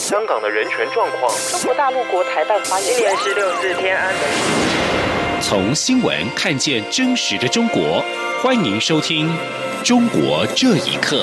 香港的人权状况。 中国大陆国台办发言人今年是64天安门。 从新闻看见真实的中国，欢迎收听《中国这一刻》。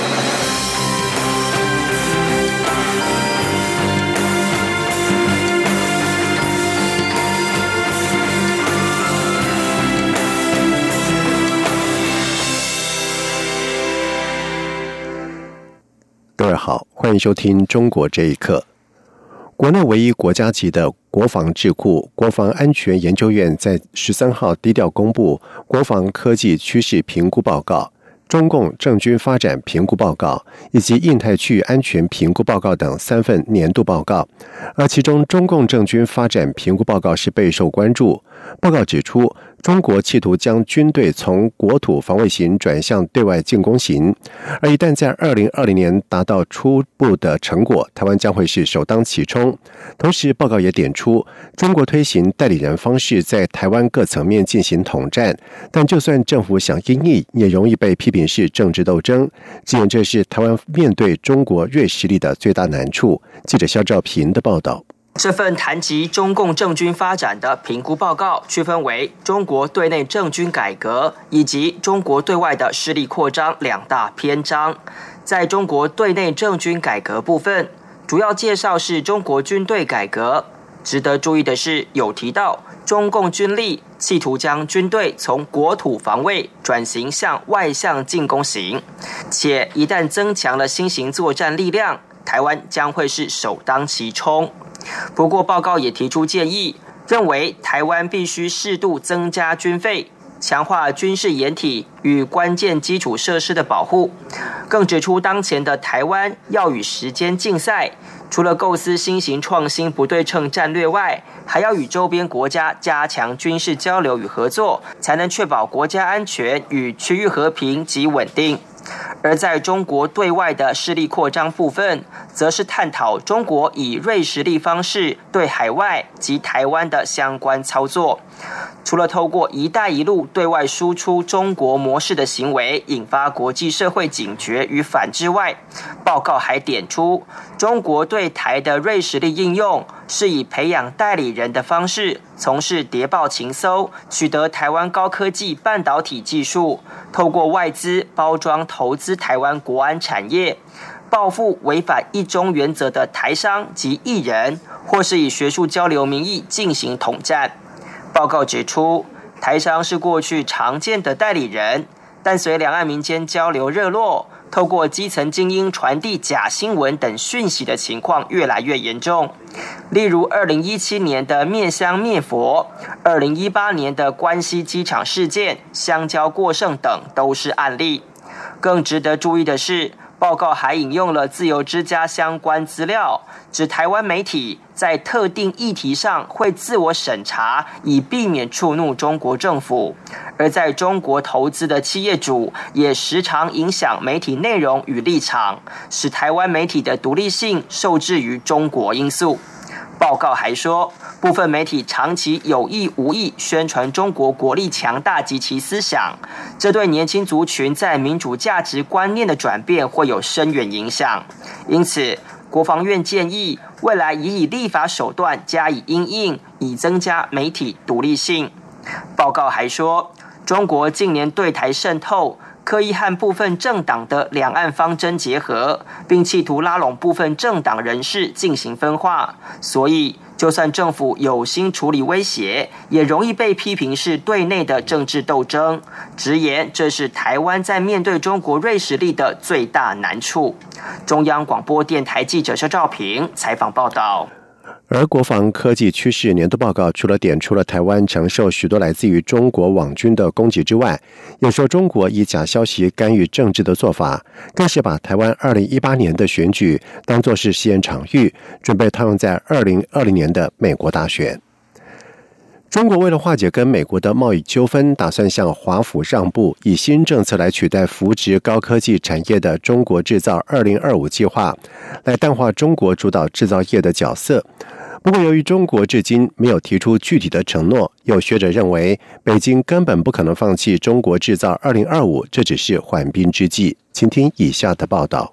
各位好，欢迎收听《中国这一刻》。国内唯一国家级的国防智库国防安全研究院在13号低调公布国防科技趋势评估报告、中共政军发展评估报告以及印太区域安全评估报告等3份年度报告，而其中中共政军发展评估报告是备受关注。报告指出，中国企图将军队从国土防卫型转向对外进攻型，而一旦在2020年达到初步的成果，台湾将会是首当其冲。同时，报告也点出，中国推行代理人方式在台湾各层面进行统战，但就算政府想因应，也容易被批评是政治斗争，直言这是台湾面对中国锐实力的最大难处。记者肖兆平的报道。 这份谈及中共政军发展的评估报告区分为中国对内政军改革以及中国对外的势力扩张2大篇章。在中国对内政军改革部分，主要介绍是中国军队改革。值得注意的是，有提到中共军力企图将军队从国土防卫转型向外向进攻型，且一旦增强了新型作战力量，台湾将会是首当其冲。不过报告也提出建议，认为台湾必须适度增加军费，强化军事掩体与关键基础设施的保护。更指出当前的台湾要与时间竞赛，除了构思新型创新不对称战略外，还要与周边国家加强军事交流与合作，才能确保国家安全与区域和平及稳定。而在中国对外的势力扩张部分，则是探讨中国以锐实力方式对海外及台湾的相关操作。除了透过一带一路对外输出中国模式的行为引发国际社会警觉与反制外，报告还点出中国对台的锐实力应用是以培养代理人的方式从事谍报情搜，取得台湾高科技半导体技术，透过外资包装投资台湾国安产业，报复违反一中原则的台商及艺人，或是以学术交流名义进行统战。报告指出，台商是过去常见的代理人，但随两岸民间交流热络，透过基层精英传递假新闻等讯息的情况越来越严重。例如2017年的灭香灭佛，2018年的关西机场事件、香蕉过剩等都是案例。更值得注意的是，报告还引用了自由之家相关资料，指台湾媒体在特定议题上会自我审查，以避免触怒中国政府；而在中国投资的企业主也时常影响媒体内容与立场，使台湾媒体的独立性受制于中国因素。报告还说，部分媒体长期有意无意宣传中国国力强大及其思想，这对年轻族群在民主价值观念的转变会有深远影响。因此，国防院建议未来以立法手段加以因应，以增加媒体独立性。报告还说，中国近年对台渗透，刻意和部分政党的两岸方针结合，并企图拉拢部分政党人士进行分化，所以就算政府有心处理威胁，也容易被批评是对内的政治斗争，直言这是台湾在面对中国锐实力的最大难处。中央广播电台记者肖兆平采访报道。 而国防科技趋势年度报告除了点出了台湾承受许多来自于中国网军的攻击之外，也说中国以假消息干预政治的做法，更是把台湾2018年的选举当作是试验场域，准备套用在2020年的美国大选。中国为了化解跟美国的贸易纠纷，打算向华府让步，以新政策来取代扶植高科技产业的中国制造2025计划，来淡化中国主导制造业的角色。不过由于中国至今没有提出具体的承诺，有学者认为北京根本不可能放弃中国制造2025，这只是缓兵之计。请听以下的报道。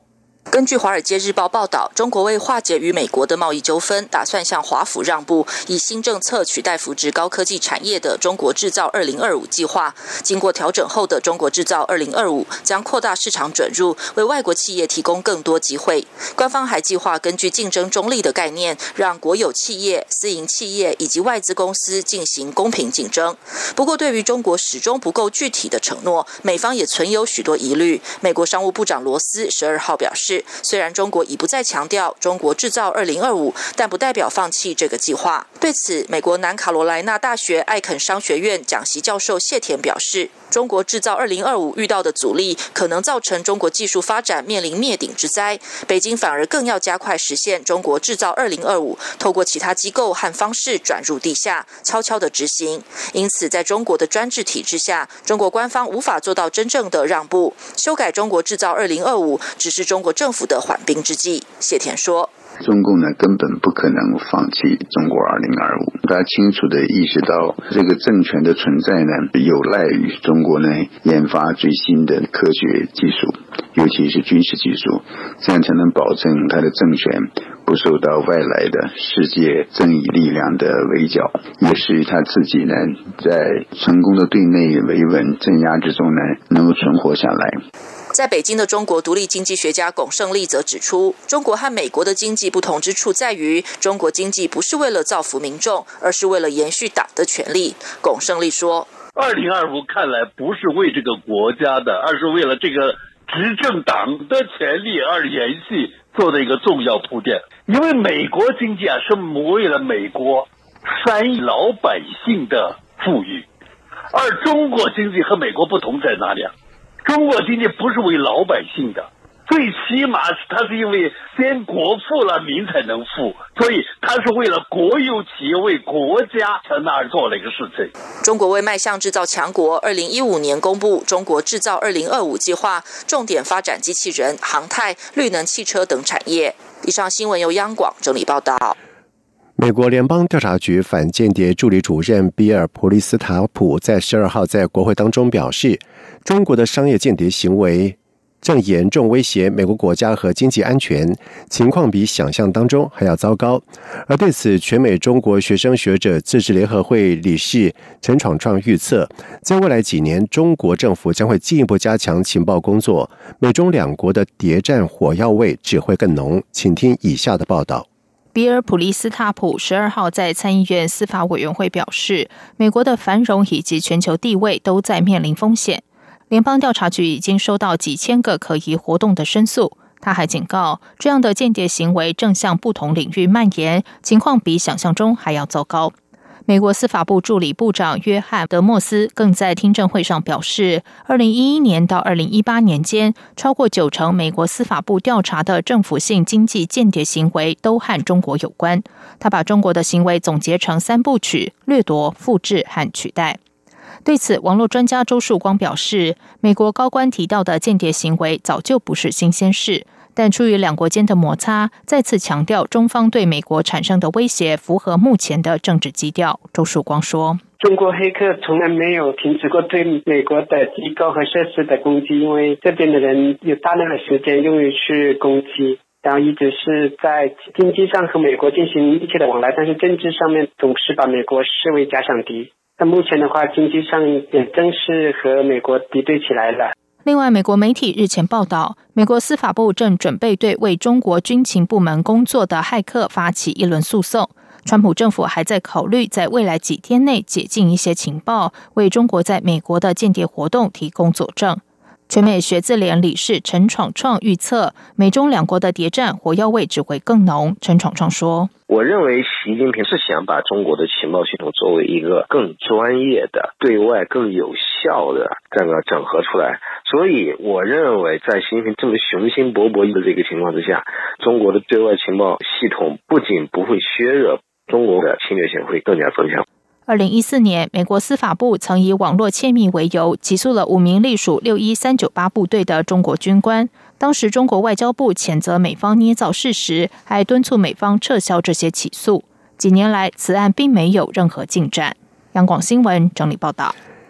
根据《华尔街日报》报道，中国为化解与美国的贸易纠纷，打算向华府让步，以新政策取代扶植高科技产业的中国制造2025计划。经过调整后的中国制造2025将扩大市场准入，为外国企业提供更多机会。官方还计划根据竞争中立的概念，让国有企业、私营企业以及外资公司进行公平竞争。不过，对于中国始终不够具体的承诺，美方也存有许多疑虑。美国商务部长罗斯12号表示，虽然中国已不再强调中国制造2025，但不代表放弃这个计划。对此，美国南卡罗来纳大学艾肯商学院讲席教授谢田表示，中国制造2025遇到的阻力可能造成中国技术发展面临灭顶之灾，北京反而更要加快实现中国制造2025，透过其他机构和方式转入地下，悄悄地执行。因此，在中国的专制体制下，中国官方无法做到真正的让步，修改中国制造2025只是中国政府的缓兵之计。谢田说， 中共呢根本不可能放弃中国2025，他清楚地意识到这个政权的存在呢，有赖于中国呢研发最新的科学技术，尤其是军事技术，这样才能保证他的政权不受到外来的世界正义力量的围剿，也是他自己呢在成功的对内维稳镇压之中呢能够存活下来。 在北京的中国独立经济学家龚胜利则指出，中国和美国的经济不同之处在于，中国经济不是为了造福民众，而是为了延续党的权利。龚胜利说 ，2025看来不是为这个国家的，而是为了这个执政党的权利而延续做的一个重要铺垫。因为美国经济是为了美国3亿老百姓的富裕，而中国经济和美国不同在哪里啊？中国经济不是为老百姓的，最起码它是因为先国富了，民才能富，所以它是为了国有企业、为国家在那儿做了一个事情。 中国为迈向制造强国，2015年公布中国制造2025计划，重点发展机器人、航太、绿能汽车等产业。以上新闻由央广整理报道。 美国联邦调查局反间谍助理主任比尔·普利斯塔普在12号在国会当中表示，中国的商业间谍行为正严重威胁美国国家和经济安全，情况比想象当中还要糟糕。而对此，全美中国学生学者自治联合会理事陈闯创预测，在未来几年，中国政府将会进一步加强情报工作，美中两国的谍战火药味只会更浓。请听以下的报道。 比尔·普利斯塔普12号在参议院司法委员会表示，美国的繁荣以及全球地位都在面临风险。联邦调查局已经收到几千个可疑活动的申诉。他还警告，这样的间谍行为正向不同领域蔓延，情况比想象中还要糟糕。美国司法部助理部长约翰·德莫斯更在听证会上表示，2011年到2018年间，超过90%美国司法部调查的政府性经济间谍行为都和中国有关。他把中国的行为总结成3部曲：掠夺、复制和取代。对此，网络专家周树光表示，美国高官提到的间谍行为早就不是新鲜事，但出于两国间的摩擦，再次强调中方对美国产生的威胁符合目前的政治基调。周树光说， 中国黑客从来没有停止过对美国的机构和设施的攻击，因为这边的人有大量的时间用于去攻击，然后一直是在经济上和美国进行密切的往来，但是政治上面总是把美国视为假想敌。那目前的话，经济上也正是和美国敌对起来了。 另外，美国媒体日前报道，美国司法部正准备对为中国军情部门工作的骇客发起一轮诉讼。川普政府还在考虑在未来几天内解禁一些情报，为中国在美国的间谍活动提供佐证。全美学自联理事陈闯创预测，美中两国的谍战火药味只会更浓。陈闯创说， 我认为习近平是想把中国的情报系统作为一个更专业的、对外更有效的这个整合出来，所以我认为在习近平这么雄心勃勃的这个情况之下，中国的对外情报系统不仅不会削弱，中国的侵略性会更加增强。 2014年，美国司法部曾以网络窃密为由，起诉了5名隶属61398部队的中国军官。当时中国外交部谴责美方捏造事实，还敦促美方撤销这些起诉。几年来，此案并没有任何进展。央广新闻整理报道。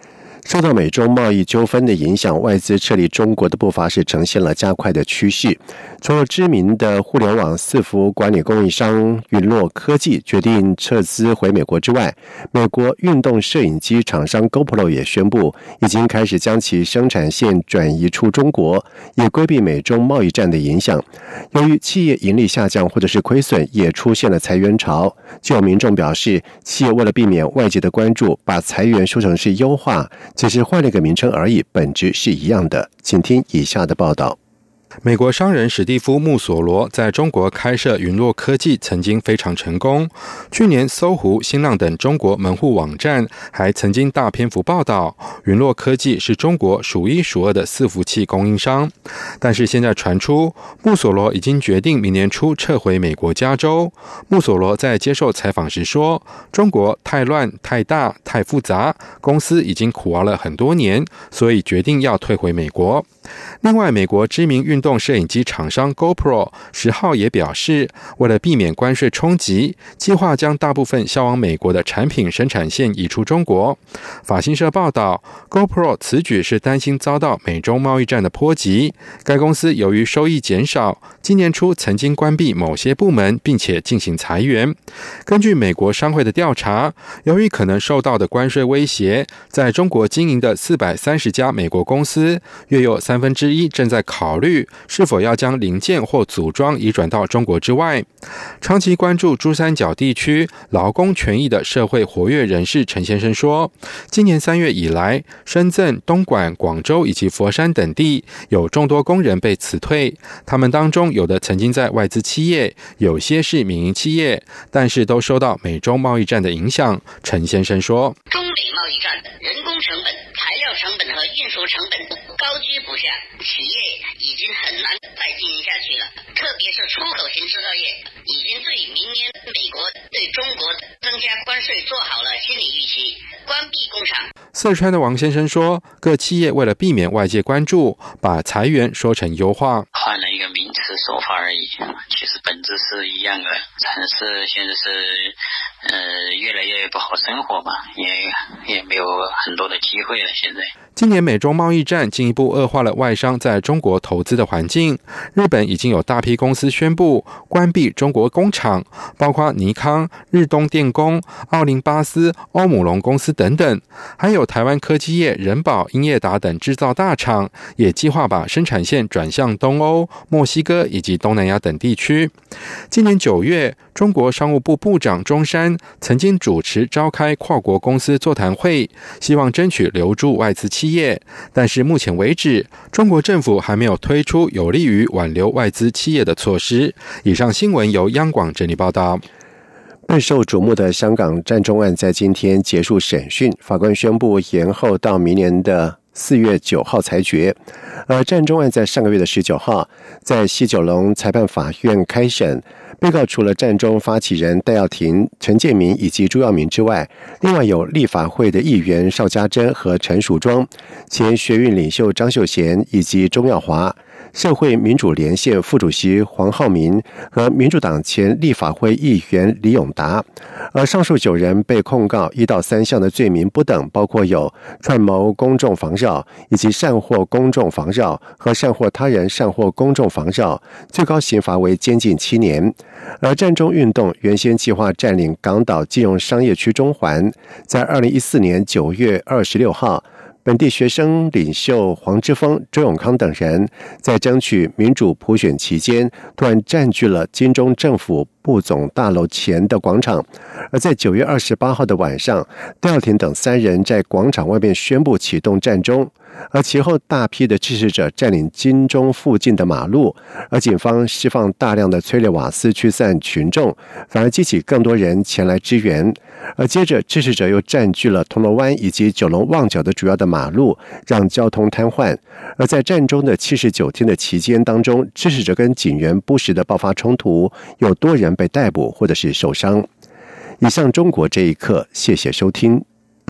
受到美中贸易纠纷的影响，外资撤离中国的步伐是呈现了加快的趋势。除了知名的互联网伺服管理供应商云洛科技决定撤资回美国之外，美国运动摄影机厂商 GoPro 也宣布已经开始将其生产线转移出中国，以规避美中贸易战的影响。由于企业盈利下降或者是亏损，也出现了裁员潮。就有民众表示，企业为了避免外界的关注，把裁员说成是优化，只是换了一个名称而已，本质是一样的。请听以下的报道。 美国商人史蒂夫·穆索罗在中国开设云洛科技曾经非常成功。去年搜狐、新浪等中国门户网站还曾经大篇幅报道云洛科技是中国数一数二的伺服器供应商。但是现在传出，穆索罗已经决定明年初撤回美国加州。穆索罗在接受采访时说，中国太乱、太大、太复杂，公司已经苦熬了很多年，所以决定要退回美国。另外，美国知名运动摄影机厂商 GoPro 10号也表示，为了避免关税冲击，计划将大部分销往美国的产品生产线移出中国。法新社报道， GoPro 此举是担心遭到美中贸易战的波及。该公司由于收益减少，今年初曾经关闭某些部门，并且进行裁员。根据美国商会的调查，由于可能受到的关税威胁，在中国经营的430家美国公司，约有1/3正在考虑是否要将零件或组装移转到中国之外。长期关注珠三角地区劳工权益的社会活跃人士陈先生说，今年3月以来，深圳、东莞、广州以及佛山等地有众多工人被辞退，他们当中有的曾经在外资企业，有些是民营企业，但是都受到美中贸易战的影响。陈先生说， 中美贸易战人工成本、材料成本和运输成本高居不下，企业已经很难再经营下去了，特别是出口型制造业已经对明年美国对中国增加关税做好了心理预期，关闭工厂。 四川的王先生说，各企业为了避免外界关注，把裁员说成优化， 换了一个名词说法而已，其实本质是一样的。城市现在是越来越不好生活嘛，也没有很多的机会了。现在今年美中贸易战进一步恶化了外商在中国投资的环境。日本已经有大批公司宣布关闭中国工厂，包括尼康、日东电工、奥林巴斯、欧姆龙公司等等，还有台湾科技业仁宝、英业达等制造大厂也计划把生产线转向东欧、墨西哥以及东南亚等地区。今年9月，中国商务部部长钟山曾经主持召开跨国公司座谈会，希望争取留住外资企业，但是目前为止，中国政府还没有推出有利于挽留外资企业的措施。以上新闻由央广整理报道。 备受瞩目的香港占中案在今天结束审讯，法官宣布延后到明年的4月9号裁决。而占中案在上个月的19号在西九龙裁判法院开审，被告除了占中发起人戴耀廷、陈建民以及朱耀明之外，另外有立法会的议员邵家珍和陈淑庄、前学运领袖张秀贤以及钟耀华、社会民主连线副主席黄浩民和民主党前立法会议员李永达。而上述9人被控告1到3项的罪名不等，包括有串谋公众妨扰以及擅获公众妨扰和擅获他人擅获公众妨扰，最高刑罚为监禁7年。而占中运动原先计划占领港岛金融商业区中环，在2014年9月26号，本地学生领袖黄之锋、周永康等人在争取民主普选期间，突然占据了金钟政府部总大楼前的广场。而在9月28号的晚上，戴耀廷等3人在广场外面宣布启动占中，而其后大批的支持者占领金钟附近的马路，而警方释放大量的催泪瓦斯驱散群众，反而激起更多人前来支援。而接着支持者又占据了铜锣湾以及九龙旺角的主要的马路，让交通瘫痪。而在占中的79天的期间当中，支持者跟警员不时的爆发冲突，有多人被逮捕或者是受伤。以上中国这一刻，谢谢收听。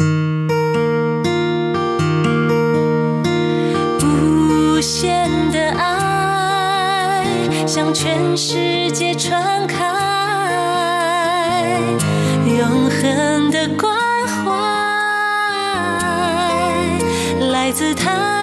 无限的爱向全世界传开，永恒的关怀来自台